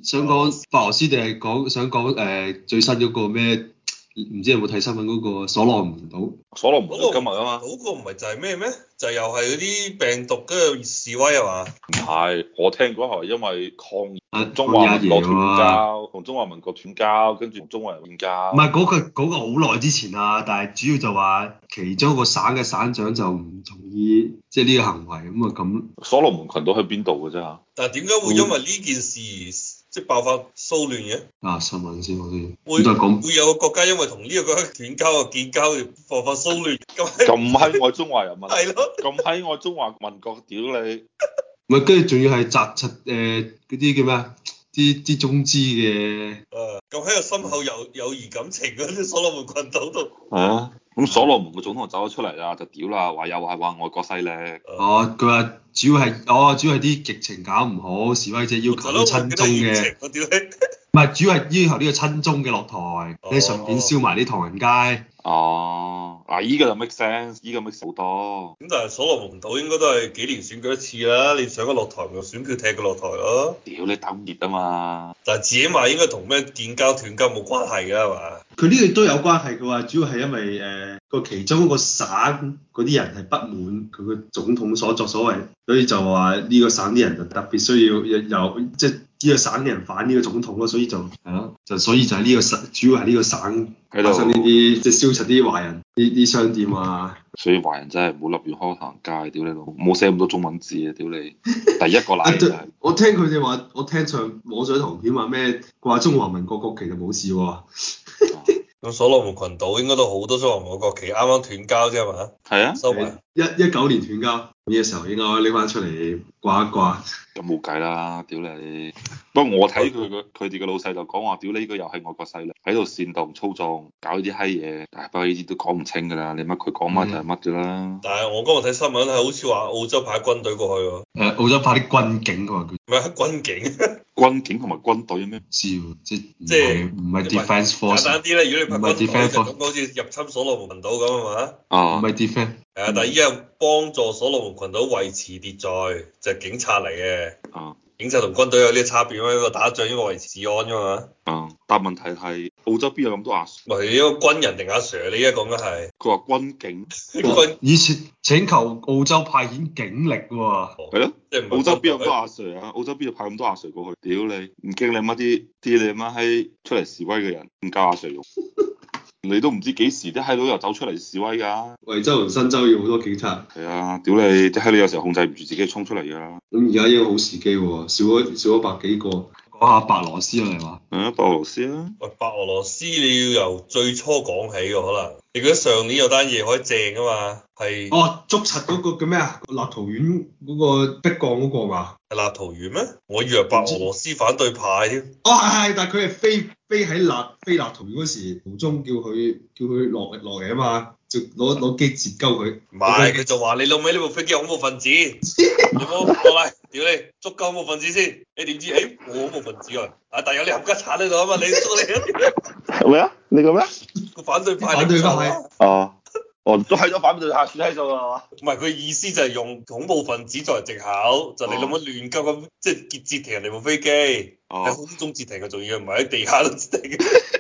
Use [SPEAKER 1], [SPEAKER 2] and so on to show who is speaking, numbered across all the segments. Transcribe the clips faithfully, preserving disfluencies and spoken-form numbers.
[SPEAKER 1] 想講白俄羅斯定係講想講誒、呃、最新嗰個咩？唔知有冇睇新聞嗰個所羅門島？
[SPEAKER 2] 所羅門島今日啊嘛，
[SPEAKER 3] 嗰個唔係就係咩咩？就又係嗰啲病毒跟住示威係嘛？
[SPEAKER 2] 唔係，我聽講係因為抗議
[SPEAKER 1] 啊，
[SPEAKER 2] 中華民國斷
[SPEAKER 1] 抗議阿爺
[SPEAKER 2] 交，同中華民國斷交，跟住同中國人斷交。
[SPEAKER 1] 唔係嗰個嗰、嗰個好耐之前啦，但係主要就話其中一個省嘅省長就唔同意即係呢個行為咁啊咁。
[SPEAKER 2] 所羅門群島喺邊度嘅啫嚇？
[SPEAKER 3] 但係點解會因為呢件事而即係爆發騷亂嘅？
[SPEAKER 1] 啊，新聞先我先，
[SPEAKER 3] 會
[SPEAKER 1] 再講
[SPEAKER 3] 會有個國家因為同呢個國家斷交啊建交而爆發騷亂咁？
[SPEAKER 2] 咁閪愛中華人民，
[SPEAKER 3] 係咯，
[SPEAKER 2] 咁閪愛中華民國，屌你！
[SPEAKER 1] 唔係跟住仲要係紮實誒嗰啲叫咩啊？啲啲中資嘅。
[SPEAKER 3] 誒，咁喺個深厚友友誼感情嗰啲所羅門群島度。
[SPEAKER 2] 係啊，咁所羅門個總統走咗出嚟啦，就屌啦，話又係話外國勢力。
[SPEAKER 1] 哦，佢話主要係哦，主要係啲疫情搞唔好，示威者要求啲親中嘅。
[SPEAKER 3] 我屌你！
[SPEAKER 1] 唔係，主要係要求呢個親中嘅落台，你順便燒埋啲唐人街。
[SPEAKER 2] 哦，嗱依個就 make sense，依個 make sense 好多。
[SPEAKER 3] 咁但係所羅門島應該都係幾年選舉一次啦，你想佢落台咪選票踢佢落台咯。
[SPEAKER 2] 屌你打熱啊嘛！
[SPEAKER 3] 但係自己話應該同咩建交斷交冇關係㗎係嘛？
[SPEAKER 1] 佢呢個都有關係，佢話主要係因為誒個、呃、其中一個省嗰啲人係不滿佢個總統所作所為，所以就話呢個省啲人就特別需要有即係呢個省嘅人反呢個總統咯，所以就係咯，就所以就係呢個省主要係呢個省發生呢啲即係燒柒啲華人呢啲商店啊。
[SPEAKER 2] 所以華人真係唔好立亂開唐人街，屌你老母，冇寫咁多中文字啊，屌你！第一個例就係
[SPEAKER 1] 我聽佢哋話，我聽上網上圖片話咩掛中華民國國旗就冇事喎。
[SPEAKER 3] 咁所羅門群島應該都好多中華民國國旗，啱啱斷交啫係嘛？
[SPEAKER 2] 係啊，
[SPEAKER 3] 收埋
[SPEAKER 1] 一一九年斷交，呢個時候應該拎翻出嚟掛一掛。
[SPEAKER 2] 咁冇計啦，屌你！不過我睇佢個佢哋嘅老細就講話，屌你呢個又係外國勢力喺度煽動操縱，搞呢啲閪嘢，但係不過呢啲都講唔清㗎啦，你乜佢講乜就係乜㗎啦。嗯、
[SPEAKER 3] 但係我今日睇新聞係好似話澳洲派軍隊過去喎。
[SPEAKER 1] 誒，澳洲派啲軍警過去。
[SPEAKER 3] 唔係軍警。
[SPEAKER 2] 軍警同埋軍隊咩？
[SPEAKER 1] 知喎，即
[SPEAKER 3] 即係
[SPEAKER 1] 唔係 defence force。
[SPEAKER 3] 簡單啲咧，如果你派軍隊就咁好似入侵所羅門群島咁啊嘛。
[SPEAKER 2] 啊。
[SPEAKER 1] 唔係 defence。
[SPEAKER 3] 係啊，但係依家幫助所羅門群島維持秩序，就係、是、警察嚟嘅。
[SPEAKER 2] 啊。
[SPEAKER 3] 警察同軍隊有啲差別咩？一個打仗，一個維持治安㗎嘛。
[SPEAKER 2] 啊！但問題係澳洲邊有咁多阿 Sir？
[SPEAKER 3] 唔係一個軍人定阿 Sir？你而家講緊係？
[SPEAKER 2] 佢話軍警。
[SPEAKER 3] 軍
[SPEAKER 1] 以前請求澳洲派遣警力喎。
[SPEAKER 2] 係咯。
[SPEAKER 3] 即係
[SPEAKER 2] 澳洲邊有咁多阿 Sir 啊？澳洲邊度派咁多阿 Sir 過去？屌你！唔驚你乜啲啲你媽閪出嚟示威嘅人唔夠阿 Sir 用？你都唔知幾時啲閪佬又走出嚟示威㗎。
[SPEAKER 1] 惠州同新州要好多警察。
[SPEAKER 2] 係啊！屌你！啲閪佬有時候控制唔住自己衝出嚟㗎。
[SPEAKER 1] 咁而家一個好時機喎，少咗少咗百幾個。講下白羅斯啊，你話？
[SPEAKER 2] 係啊，白俄羅斯啊。
[SPEAKER 3] 喂，白俄羅斯你要由最初講起喎，可能你覺得上年有單嘢可以正啊嘛？係
[SPEAKER 1] 哦，捉實嗰個叫咩啊？立陶宛嗰個逼降嗰個嘛？
[SPEAKER 3] 係立陶宛咩？我以為白俄羅斯反對派添。
[SPEAKER 1] 哦，係係，但係佢係飛飛喺立飛立陶宛嗰時途中叫佢叫佢落落嚟啊嘛，就攞攞機截鳩佢。
[SPEAKER 3] 唔係，佢就話你老味呢部飛機恐怖分子，有冇落嚟？屌你，捉鳩恐怖分子先。你點知？誒、欸，我恐怖分子啊！啊，但係有你冚家鏟喺度啊嘛，你捉你。
[SPEAKER 2] 咩啊？你講咩？
[SPEAKER 3] 個反對派。
[SPEAKER 1] 反對派。
[SPEAKER 2] 哦。哦，都係咗反對派，算喺度啊嘛。
[SPEAKER 3] 唔係，佢意思就係用恐怖分子作為藉口，就你諗乜亂鳩咁，即係截截停人哋部飛機，喺空中截停嘅，仲要唔係喺地下度截停。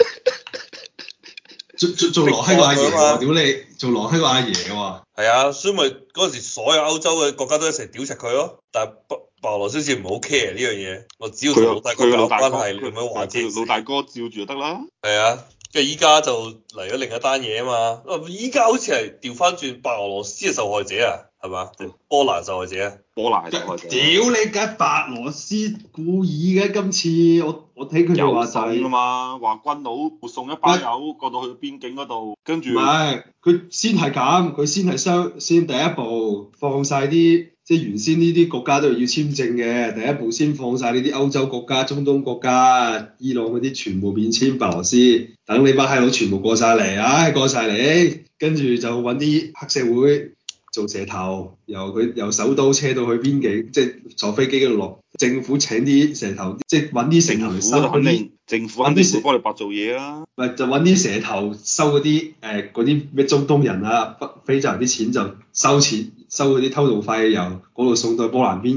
[SPEAKER 3] 做做做羅閪個阿爺喎，屌你！做羅閪個阿爺喎。係啊，所以咪嗰陣時所有歐洲嘅國家都一齊屌柒佢咯。但係白白俄羅斯好似唔好 care 呢樣嘢，我只要同老大哥搞關係，你咪話啫。老大哥照住就得啦。係啊。即係依家就嚟咗另一單嘢啊嘛，依家好似係調翻轉白俄羅斯嘅受害者啊，係嘛？波蘭受害者啊？波蘭受害者。屌你梗白俄羅斯故意嘅，今次我我睇佢哋話就係、是、啊
[SPEAKER 2] 嘛，話軍佬會送一班友過到去邊境嗰度，跟住。唔
[SPEAKER 1] 係，佢先係咁，佢先係雙先第一步放晒啲。即係原先呢啲國家都係要簽證嘅，第一步先放晒呢啲歐洲國家、中東國家、伊朗嗰啲全部免簽白羅斯，等你班閪佬全部過晒嚟，唉、哎、過晒嚟，跟住就揾啲黑社會做蛇頭，由佢由首都車到去邊境，即係坐飛機嗰度落，政府請啲蛇頭，即係揾啲蛇頭嚟收嗰啲，
[SPEAKER 2] 政府肯定會幫你白做嘢啊，
[SPEAKER 1] 咪就揾啲蛇頭收嗰啲誒嗰啲咩中東人啊、非洲人啲錢就收錢。收嗰啲偷渡費，由嗰度送到波蘭邊境，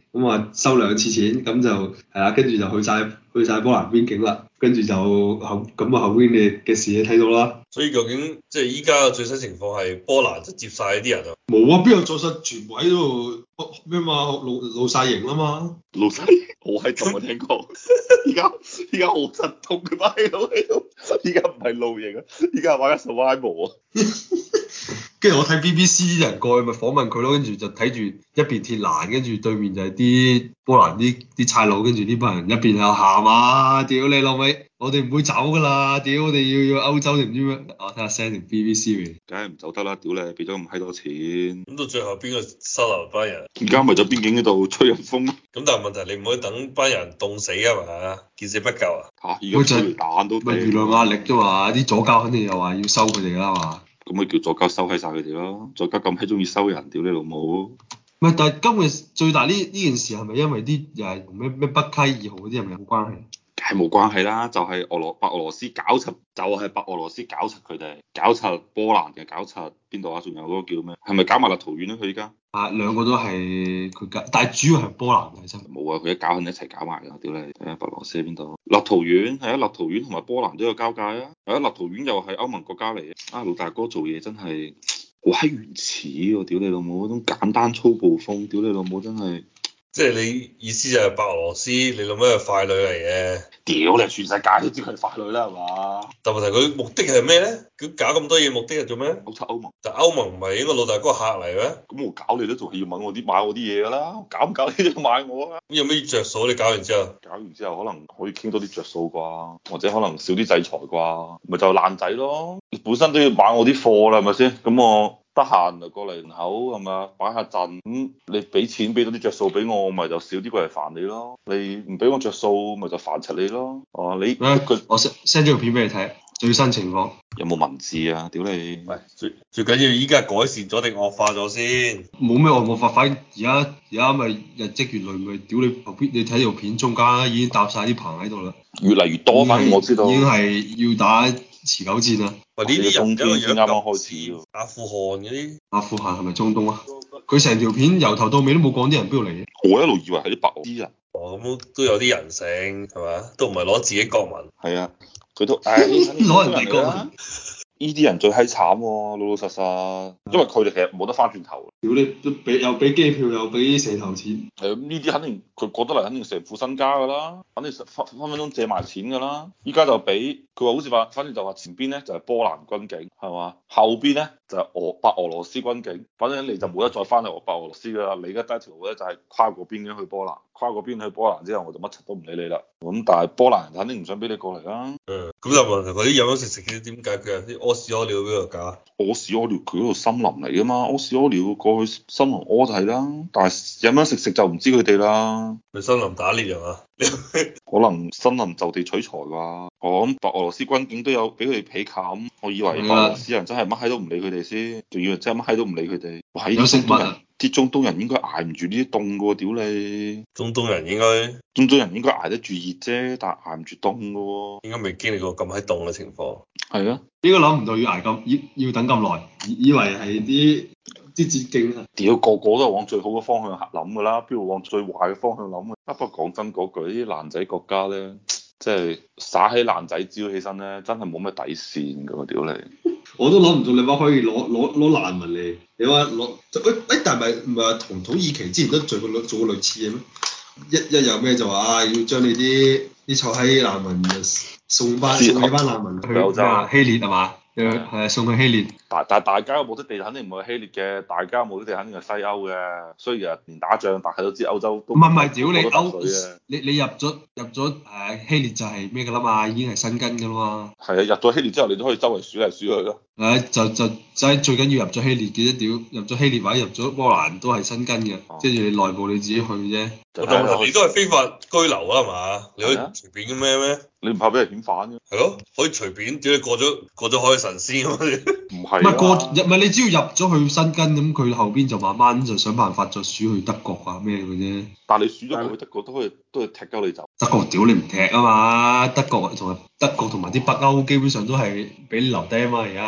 [SPEAKER 1] 咁啊收兩次錢，咁就係啦，跟住就去晒去晒波蘭邊境啦，跟住就後咁啊後邊嘅嘅事你睇到啦。
[SPEAKER 3] 所以究竟即係依家嘅最新情況係波蘭就接晒啲人啊？
[SPEAKER 1] 冇啊，邊有做實全部喺度咩嘛？露露曬營啦嘛。
[SPEAKER 2] 露曬好閪凍啊！聽講，依家依家好實痛嘅嘛喺度喺度，依家唔係露營啊，依家係玩緊 survival 啊。
[SPEAKER 1] 跟住我睇 B B C 啲人過去咪訪問佢咯，跟住就睇住一邊鐵欄，跟住對面就係啲波蘭啲啲差佬，跟住呢班人一邊又喊啊！屌你老味，我哋唔會走噶啦！屌我哋要要歐洲定唔知咩？我睇下 send 條 B B C 俾你。
[SPEAKER 2] 梗係唔走得啦！屌你，俾咗咁閪多錢。
[SPEAKER 3] 咁到最後邊個收留班人？
[SPEAKER 2] 而家咪咗邊境嗰度吹人風。
[SPEAKER 3] 咁但係問題你唔可以等班人凍死啊嘛，見死不救啊！
[SPEAKER 2] 嚇！而家催淚彈都
[SPEAKER 1] 咪輿論壓力啫嘛，啲左膠肯定又話要收佢哋啦嘛。
[SPEAKER 2] 咁咪叫左膠收閪晒佢哋咯，左膠咁閪中意收人，屌你老母！
[SPEAKER 1] 唔係，但係今日最大呢呢件事係咪因為啲又係同咩咩北溪二號嗰啲係咪有關係？
[SPEAKER 2] 係冇關係啦，就係、是、俄羅白俄羅斯搞柒，就係、是、白俄羅斯搞柒佢哋，搞柒波蘭嘅，搞柒邊度啊？仲有嗰個叫咩？係咪搞埋立陶宛咧？佢依家
[SPEAKER 1] 啊，兩個都係佢搞，但係主要係波蘭嘅真。冇
[SPEAKER 2] 啊，佢一搞肯定一齊搞埋㗎，屌你！睇下白俄羅斯喺邊度？立陶宛係啊，立陶宛同埋波蘭都有交界啊。係啊，立陶宛又係歐盟國家嚟嘅。啊，老大哥做嘢真係好閪原始喎！屌你老母嗰種簡單粗暴風，屌你老母真係。
[SPEAKER 3] 即係你意思就係白俄羅斯，你諗咩係傀儡嚟嘅？
[SPEAKER 2] 屌你，全世界都知佢係傀儡啦，係嘛？
[SPEAKER 3] 但問題佢目的係咩咧？佢搞咁多嘢目的係做咩？
[SPEAKER 2] 搞柒歐盟。
[SPEAKER 3] 但歐盟唔係應該老大哥客嚟咩？
[SPEAKER 2] 咁我搞你都仲係要問我啲買我啲嘢㗎啦，搞唔搞你都要買我啊？
[SPEAKER 3] 咁有咩着數？你搞完之後？
[SPEAKER 2] 搞完之後可能可以傾多啲着數啩，或者可能少啲制裁啩，咪就爛仔咯。你本身都要買我啲貨啦，係咪先？咁我。得閒就過嚟門口係嘛，擺下陣咁、嗯，你俾錢俾到啲着數俾我，咪就少啲過嚟煩你咯。你唔俾我着數，咪就煩柒你咯。哦、啊，你
[SPEAKER 1] 咩？我 send send 咗條片俾你睇，最新情況
[SPEAKER 2] 有冇文字啊？屌你！
[SPEAKER 3] 喂，最最緊要依家改善咗定惡化咗先？
[SPEAKER 1] 冇咩惡化，反而家而家咪日積月累咪屌你後邊，你睇條片中間已經搭晒啲棚喺度啦，
[SPEAKER 2] 越嚟越多，反正我知道
[SPEAKER 1] 已經係要打持久戰啦。
[SPEAKER 3] 喂，呢啲
[SPEAKER 2] 冬天先啱啱開始。
[SPEAKER 3] 阿富汗嗰啲，
[SPEAKER 1] 阿富汗係咪中東啊？佢成條片由頭到尾都冇講啲人邊度嚟嘅。
[SPEAKER 2] 我一路以為係啲白俄啲人。
[SPEAKER 3] 哦，咁都有啲人性係嘛？都唔係攞自己國民。
[SPEAKER 2] 係啊，佢都唉
[SPEAKER 1] 攞人哋國民。
[SPEAKER 2] 呢啲人最閪慘喎，老老實實，因為佢哋其實冇得翻轉頭。
[SPEAKER 1] 屌你都俾又俾機票又俾蛇頭錢。
[SPEAKER 2] 係咁呢啲肯定佢過得嚟肯定成副身家㗎啦，肯定分分分鐘借埋錢㗎啦。依家就俾佢話好似話，反正就話前邊咧就係波蘭軍警係嘛，後邊咧就係俄白俄羅斯軍警，反正你就冇得再翻嚟俄白俄羅斯㗎啦。你而家得一條路咧就係跨過邊境去波蘭，跨過邊去波蘭之後我就乜柒都唔理你啦。咁但係波蘭人肯定唔想俾你過嚟啦。
[SPEAKER 3] 嗯，咁就問題嗰啲飲飲食食嘅點解決啊？啲屙屎屙尿邊度搞？
[SPEAKER 2] 屙屎屙尿佢嗰度森林嚟㗎嘛，屙屎屙尿過去森林屙就係啦。但係飲飲食食就唔知佢哋啦。
[SPEAKER 3] 去森林打獵係嘛？
[SPEAKER 2] 可能森林就地取材啩。我諗白俄羅斯軍警都有俾佢哋被冚，我以為白俄羅斯人真係乜閪都唔理佢哋先，仲以為真係乜閪都唔理佢哋。哇！有食物啊！啲中東人應該捱唔住呢啲凍㗎喎，屌你！
[SPEAKER 3] 中東人應該
[SPEAKER 2] 中東人應該捱得住熱啫，但係捱唔住凍㗎喎。
[SPEAKER 3] 應該未經歷過咁閪凍嘅情況。
[SPEAKER 2] 係啊，
[SPEAKER 1] 應該諗唔到要捱咁要要等咁耐，以為係啲啲捷徑啊！
[SPEAKER 2] 屌個個都係往最好嘅方向諗㗎啦，邊度往最壞嘅方向諗啊？不過講真嗰句，啲爛仔國家咧，即係耍起爛仔招起身咧，真係冇咩底線㗎喎，屌你！
[SPEAKER 1] 我都諗唔到你話可以攞攞攞難民嚟，你話攞誒但係咪唔係話同土耳其之前都做過做過類似嘅咩？一一有咩就話啊，要將你啲啲臭閪難民送翻送你班難民去
[SPEAKER 2] 歐洲
[SPEAKER 1] 希臘係嘛？係啊，送去希臘。
[SPEAKER 2] 但但大家嘅目的地肯定唔係希臘嘅，大家嘅目的地肯定係西歐嘅。雖然連打仗，大家都知歐洲都唔
[SPEAKER 1] 係唔係，屌你
[SPEAKER 2] 歐
[SPEAKER 1] 你你入咗入咗誒希臘就係咩㗎啦嘛，已經係申根㗎啦嘛。
[SPEAKER 2] 係啊，入咗希臘之後，你都可以周圍鼠嚟鼠去咯。
[SPEAKER 1] 誒就就就係最緊要入咗希臘嘅啫，屌入咗希臘或者入咗波蘭都係申根嘅，即係你內部你自己去啫。
[SPEAKER 3] 但係你都係非法居留啊嘛，你可以隨便嘅咩咩？
[SPEAKER 2] 你唔怕俾人遣返嘅？
[SPEAKER 3] 係咯，可以隨便，只要過咗過咗海嘅神仙咁樣。
[SPEAKER 2] 唔係，
[SPEAKER 1] 唔係過入唔係你只要入咗去申根咁，佢後邊就慢慢就想辦法再輸去德國啊咩嘅啫。
[SPEAKER 2] 但係你輸咗過去德國都可以都係踢鳩你走。
[SPEAKER 1] 德國屌你唔踢啊嘛，德國同埋德國同埋啲北歐基本上都係俾你留低啊嘛，而家係。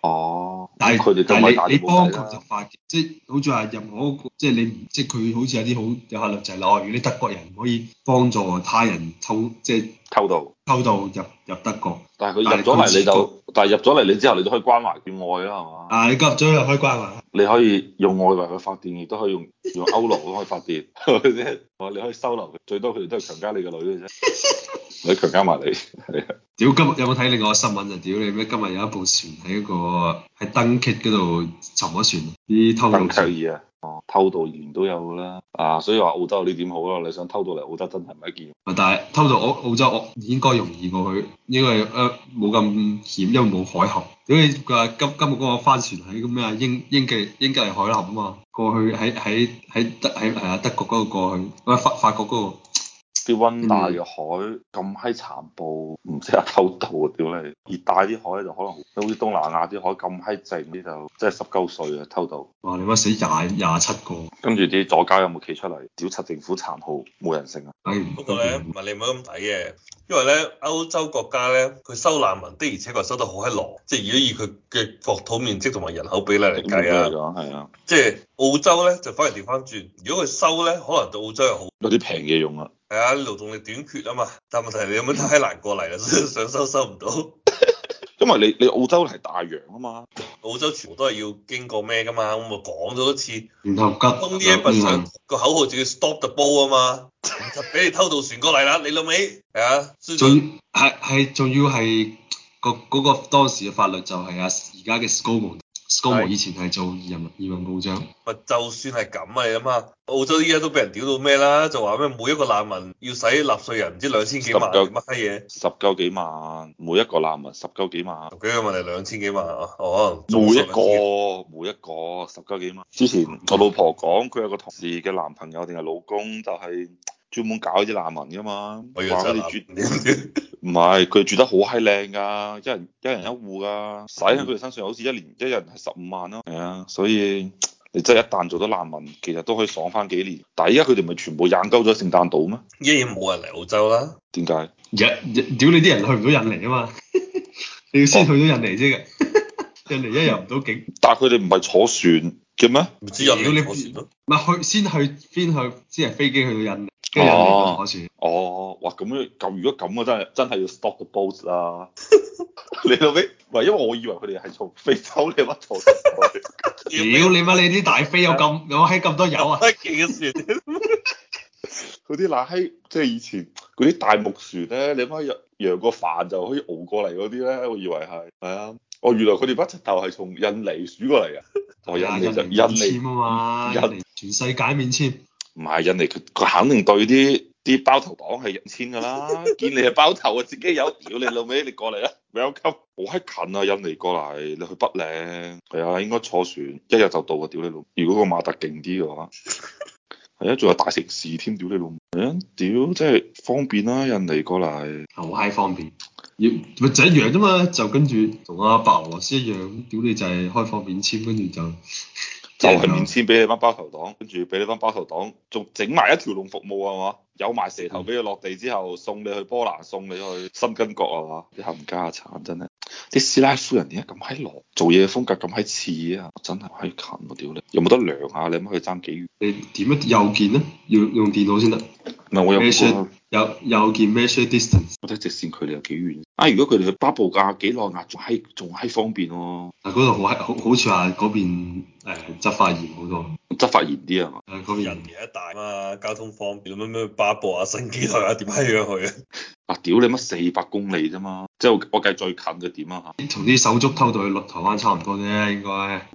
[SPEAKER 2] 哦，
[SPEAKER 1] 但係
[SPEAKER 2] 佢哋
[SPEAKER 1] 但係你你幫佢
[SPEAKER 2] 佢
[SPEAKER 1] 就發，即係好似話任何一個，即係你唔即係佢好似有啲好有法律就係啦，如果啲德國人唔可以幫助他人偷即係
[SPEAKER 2] 偷渡
[SPEAKER 1] 偷渡入入德國，
[SPEAKER 2] 但係佢入咗嚟你就，但係入咗嚟你之後你都可以關懷佢愛啦係嘛？
[SPEAKER 1] 啊你入咗又可以關懷，
[SPEAKER 2] 你可以用愛為佢發電，亦都可以用用歐羅都可以發電，係咪先？你可以收留佢，最多佢哋都係強姦你個女嘅啫，你強姦埋你，係啊！
[SPEAKER 1] 屌今日有冇睇另外個新聞啊？屌你咩？今日有一部船喺嗰個喺登劇嗰度沉咗船，啲偷渡
[SPEAKER 2] 登劇爾啊！哦，偷渡年都有㗎啦，啊，所以話澳洲呢點好咯？你想偷渡嚟澳洲真係唔係一件，
[SPEAKER 1] 但係偷渡澳澳洲我應該容易過去，因為誒冇咁險，因為冇海峽。屌你佢話今今日嗰個帆船喺咁咩啊？英英吉英吉利海峽啊嘛，過去喺喺喺德喺係啊德國嗰度過去，喂法法國嗰個。
[SPEAKER 2] 啲溫帶嘅海咁閪殘暴，唔識得偷渡啊！屌你，熱帶啲海就可能好似東南亞啲海咁閪靜啲就即係十鳩歲啊偷渡。
[SPEAKER 1] 哇！你乜死廿廿七個，
[SPEAKER 2] 跟住啲左膠有冇企出嚟屌柒政府殘酷冇人性啊？
[SPEAKER 1] 哎、
[SPEAKER 3] 不過咧，唔係你唔好咁睇嘅，因為咧歐洲國家咧，佢收難民的而且確收得好閪狼，即係如果以佢嘅國土面積同埋人口比例嚟計啊，
[SPEAKER 2] 係啊，
[SPEAKER 3] 即係澳洲咧就反而調翻轉，如果佢收咧，可能對澳洲又好，
[SPEAKER 2] 有啲平嘢用啊。
[SPEAKER 3] 係啊，勞動力短缺啊嘛，但係問題你有冇太難過嚟啦，想收收唔到。
[SPEAKER 2] 因為你你澳洲係大洋啊嘛，
[SPEAKER 3] 澳洲全部都係要經過咩噶嘛，咁我講咗多次，
[SPEAKER 1] 然後急
[SPEAKER 3] 東呢一筆上個口號就要 stop the boat 啊嘛，唔得俾你偷渡船過嚟啦，你老味係啊，
[SPEAKER 1] 仲係係仲要係個嗰個當時嘅法律就係啊而家嘅 ScoMo，ScoMo 以前係做移民移民部長。
[SPEAKER 3] 咪就算係咁啊，你諗下，澳洲依家都俾人屌到咩啦？就話咩每一個難民要使納稅人唔知兩千幾萬乜閪嘢，
[SPEAKER 2] 十鳩幾萬，每一個難民十鳩幾萬，
[SPEAKER 3] 十幾個問題兩千幾萬啊，哦，
[SPEAKER 2] 每一個每一個十鳩幾萬。之前我老婆講佢有個同事嘅男朋友定係老公就係專門搞啲難民噶嘛，話佢哋住唔係佢哋住得好閪靚㗎，一人一人一戶㗎，使喺佢哋身上好似一年一人係十五萬咯，係啊，所以。你真係一旦做咗難民，其實都可以爽翻幾年。但係依家佢哋咪全部引鳩咗聖誕島咩？
[SPEAKER 3] 依家冇人嚟澳洲啦。
[SPEAKER 2] 點解？
[SPEAKER 1] 印屌你啲人去唔到印尼啊嘛，你要先去到印尼啫嘅，印尼一入唔到境。
[SPEAKER 2] 但係佢哋唔係坐船嘅咩？
[SPEAKER 3] 唔知印尼坐船咯。
[SPEAKER 1] 唔係去先去先去先係飛機去到印尼，跟住印尼再坐船。
[SPEAKER 2] 哦，哇咁樣咁如果咁啊真係真係要 stop the boat 啦。你到尾唔係因為我以為佢哋係從非洲你乜坐船去？
[SPEAKER 1] 屌你媽！你啲大飛有咁有閪咁多油啊！
[SPEAKER 3] 幾嘅船？
[SPEAKER 2] 嗰啲乸閪即係以前嗰啲大木船咧，你媽揚揚個帆就可以熬過嚟嗰啲咧，我以為係係啊。哦，原來佢哋不直頭係從印尼鼠過嚟嘅。哦，印尼就印尼
[SPEAKER 1] 簽啊嘛，印尼全世界免簽。
[SPEAKER 2] 唔係印尼，佢佢肯定對啲啲包頭黨係人簽㗎啦。見你係包頭啊，自己有屌你老味，你過嚟啦，welcome。好閪近啊，印尼過嚟，你去北領係啊，應該坐船一日就到啊，屌你老！如果個馬達勁啲嘅話，係啊，仲有大城市添，屌你老！係啊，屌，真係方便啦，印尼過嚟，
[SPEAKER 1] 好閪方便。要咪就一樣啫嘛，就跟住同阿白俄羅斯一樣，屌你就係開放免簽，跟住就
[SPEAKER 2] 就係免簽俾你班包頭黨，跟住俾你班包頭黨仲整埋一條龍服務係嘛？有埋蛇頭俾佢落地之後，送你去波蘭，送你去新根國係嘛？啲冚家產真係，啲師奶夫人點解咁閪狼？做嘢風格咁閪似啊！真係閪近喎，屌你！有冇得量下？你諗佢爭幾遠？
[SPEAKER 1] 你點樣右鍵咧？要用電腦先得。
[SPEAKER 2] 唔係我有冇
[SPEAKER 1] 有右鍵 measure distance。
[SPEAKER 2] 我睇直線距離有幾遠？啊！如果佢哋去巴布亞幾內亞仲閪仲閪方便喎。
[SPEAKER 1] 嗱，嗰度好閪好好似話嗰邊誒執法嚴好多。
[SPEAKER 2] 執法嚴啲啊嘛？
[SPEAKER 1] 誒嗰邊
[SPEAKER 3] 人嘢一大嘛，交通方便，咩咩巴布亞新幾內亞點閪樣去啊？
[SPEAKER 2] 啊屌你乜四百公里啫嘛？即係我計最近嘅點啊嚇？
[SPEAKER 1] 同啲手足偷渡去落台灣差唔多啫，應該。